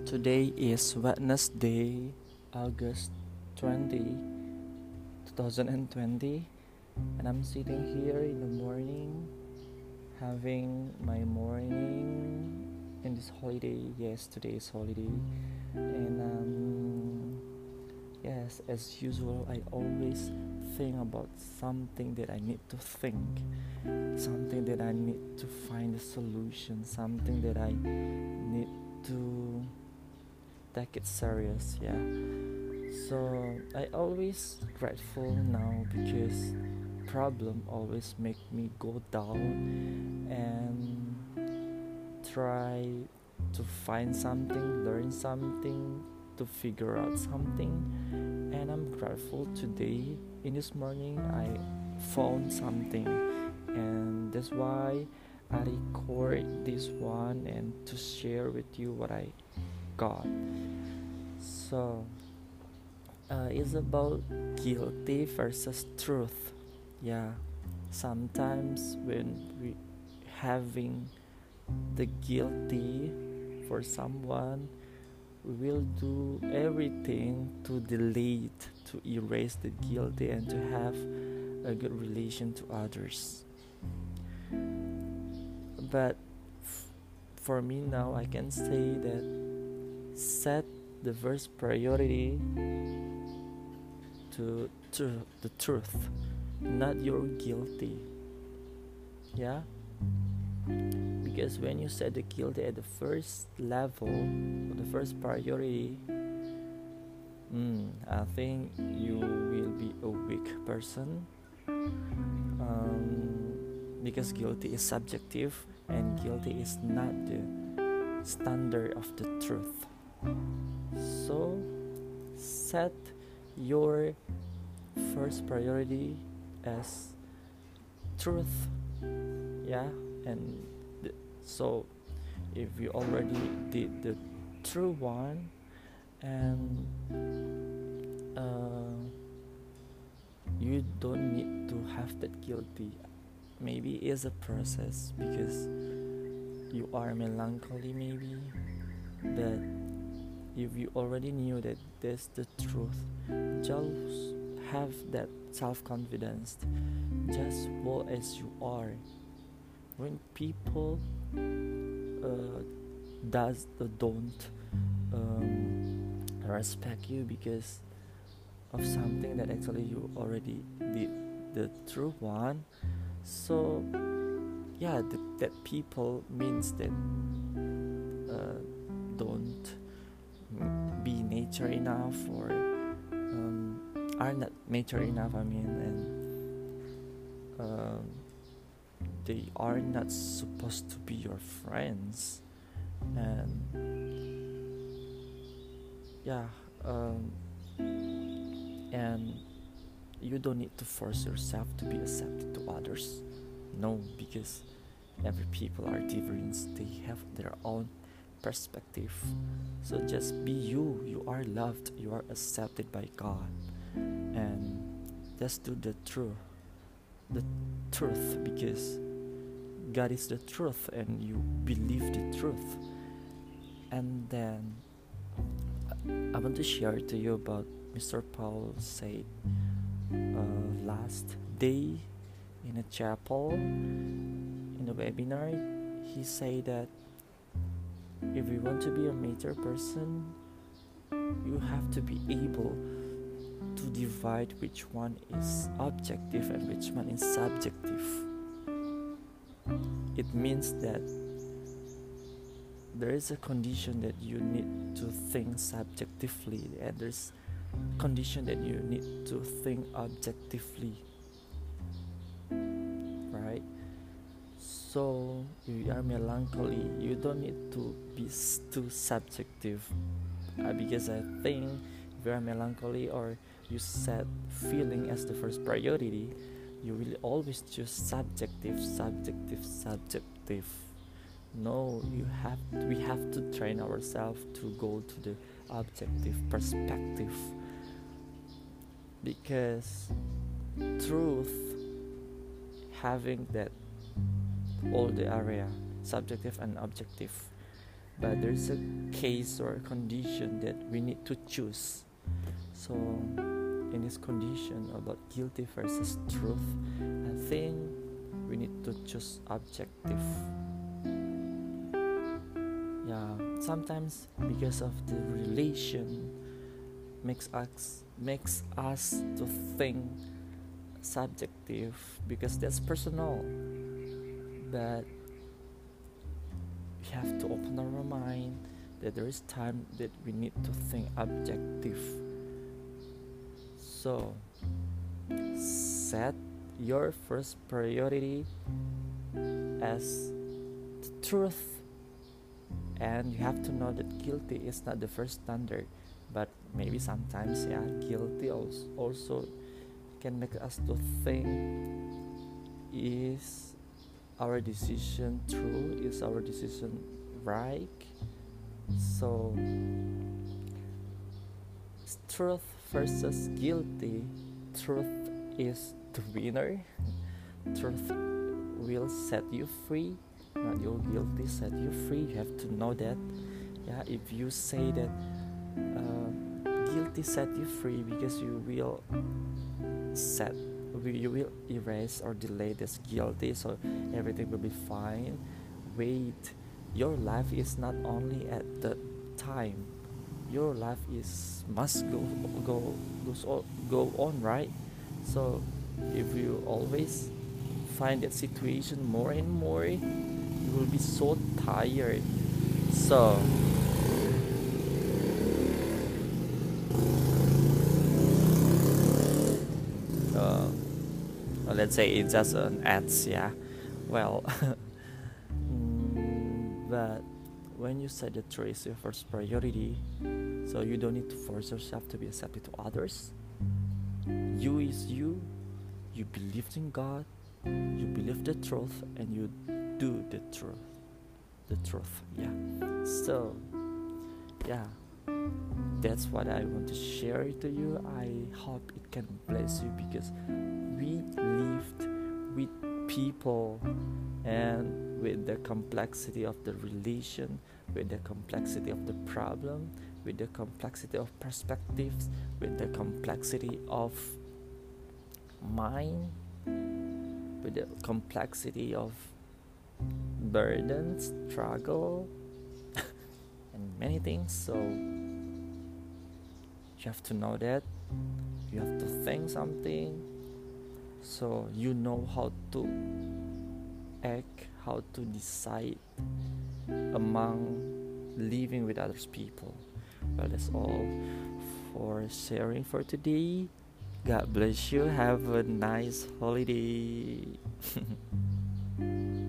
Today is Wednesday, August 20, 2020, and I'm sitting here in the morning having my morning in this holiday. Yes, today is holiday, and yes, as usual, I always think about something that I need to think, something that I need to find a solution, something that I need to take it serious. Yeah, so I always grateful now because problem always make me go down and try to find something, learn something, to figure out something. And I'm grateful today. In this morning I found something, and that's why I record this one and to share with you what I got. So it's about guilty versus truth. Yeah, sometimes when we having the guilty for someone, we will do everything to delete, to erase the guilty, and to have a good relation to others. But for me now, I can say that set the first priority to the truth, not your guilty. Yeah, because when you set the guilty at the first level, or the first priority, I think you will be a weak person, because guilty is subjective and guilty is not the standard of the truth. So set your first priority as truth. Yeah, and so if you already did the true one, and you don't need to have that guilty. Maybe it's a process because you are melancholy, maybe, but if you already knew that that's the truth, just have that self-confidence, just walk as you are. When people don't respect you because of something that actually you already did the true one, so yeah, that people means that don't be nature enough, or are not mature enough, I mean, and they are not supposed to be your friends. And yeah, and you don't need to force yourself to be accepted to others. No, because every people are different, they have their own perspective. So just be you. You are loved, you are accepted by God, and just do the truth, because God is the truth and you believe the truth. And then I want to share to you about Mr. Paul said last day in a chapel, in a webinar. He said that if you want to be a mature person, you have to be able to divide which one is objective and which one is subjective. It means that there is a condition that you need to think subjectively, and there's condition that you need to think objectively, right? So if you are melancholy, you don't need to be too subjective, because I think if you are melancholy or you set feeling as the first priority, you will always choose subjective. No, we have to train ourselves to go to the objective perspective, because truth having that all the area subjective and objective, but there's a case or a condition that we need to choose. So in this condition about guilty versus truth, I think we need to choose objective. Yeah, sometimes because of the relation makes us to think subjective because that's personal, but we have to open our mind that there is time that we need to think objective. So set your first priority as the truth, and you have to know that guilty is not the first standard, but maybe sometimes guilty also can make us to think, is our decision true, is our decision right? So truth versus guilty, truth is the winner. Truth will set you free, not your guilty set you free. You have to know that. If you say that guilty set you free because you will erase or delay this guilty, so everything will be fine. Wait, your life is not only at the time. Your life must go on, right? So if you always find that situation more and more, you will be so tired. So let's say it's just an ads, well but when you set the truth as your first priority, so you don't need to force yourself to be accepted to others. You is you believe in God, you believe the truth, and you do the truth. So that's what I want to share to you. I hope it can bless you, because we lived with people and with the complexity of the relation, with the complexity of the problem, with the complexity of perspectives, with the complexity of mind, with the complexity of burden, struggle, and many things. So you have to know that. You have to think something, so you know how to act, how to decide among living with others people. Well, that's all for sharing for today. God bless you. Have a nice holiday.